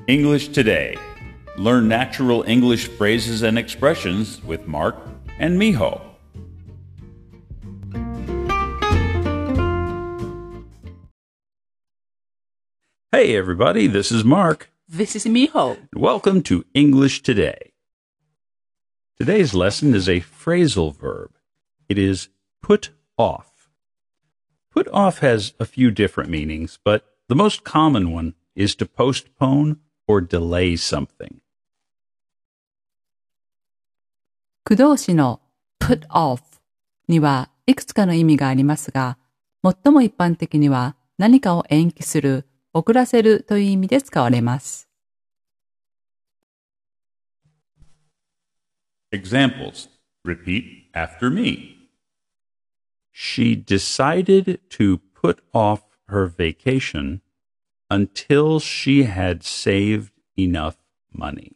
English Today. Learn natural English phrases and expressions with Mark and Miho. Hey everybody, this is Mark. This is Miho. Welcome to English Today. Today's lesson is a phrasal verb. It is put off. Put off has a few different meanings, but the most common one is to postpone or delay something. 駆動詞の put off にはいくつかの意味がありますが、最も一般的には何かを延期する、遅らせるという意味で使われます。 Examples. Repeat after me. She decided to put off her vacation until she had saved enough money.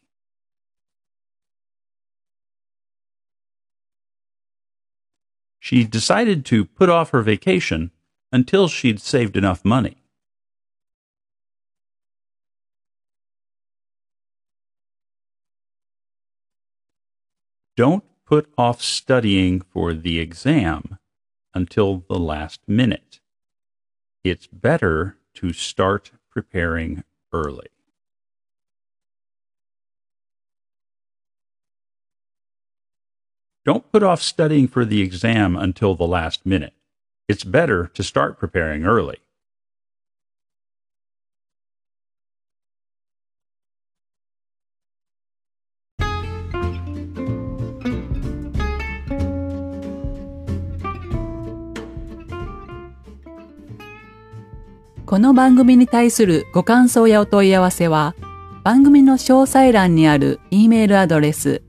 She decided to put off her vacation until she'd saved enough money. Don't put off studying for the exam until the last minute. It's better to start preparing early. Don't put off studying for the exam until the last minute. It's better to start preparing early. .この番組に対するご感想やお問い合わせは、番組の詳細欄にある E メールアドレス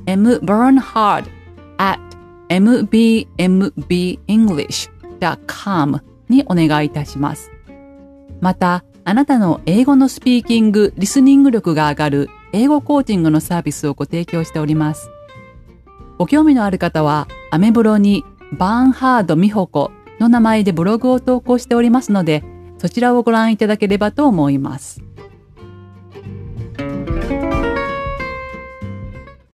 mbernhard@mbmenglish.com にお願いいたします。また、あなたの英語のスピーキング・リスニング力が上がる英語コーチングのサービスをご提供しております。ご興味のある方は、アメブロにバーンハード美穂子の名前でブログを投稿しておりますので、そちらをご覧いただければと思います。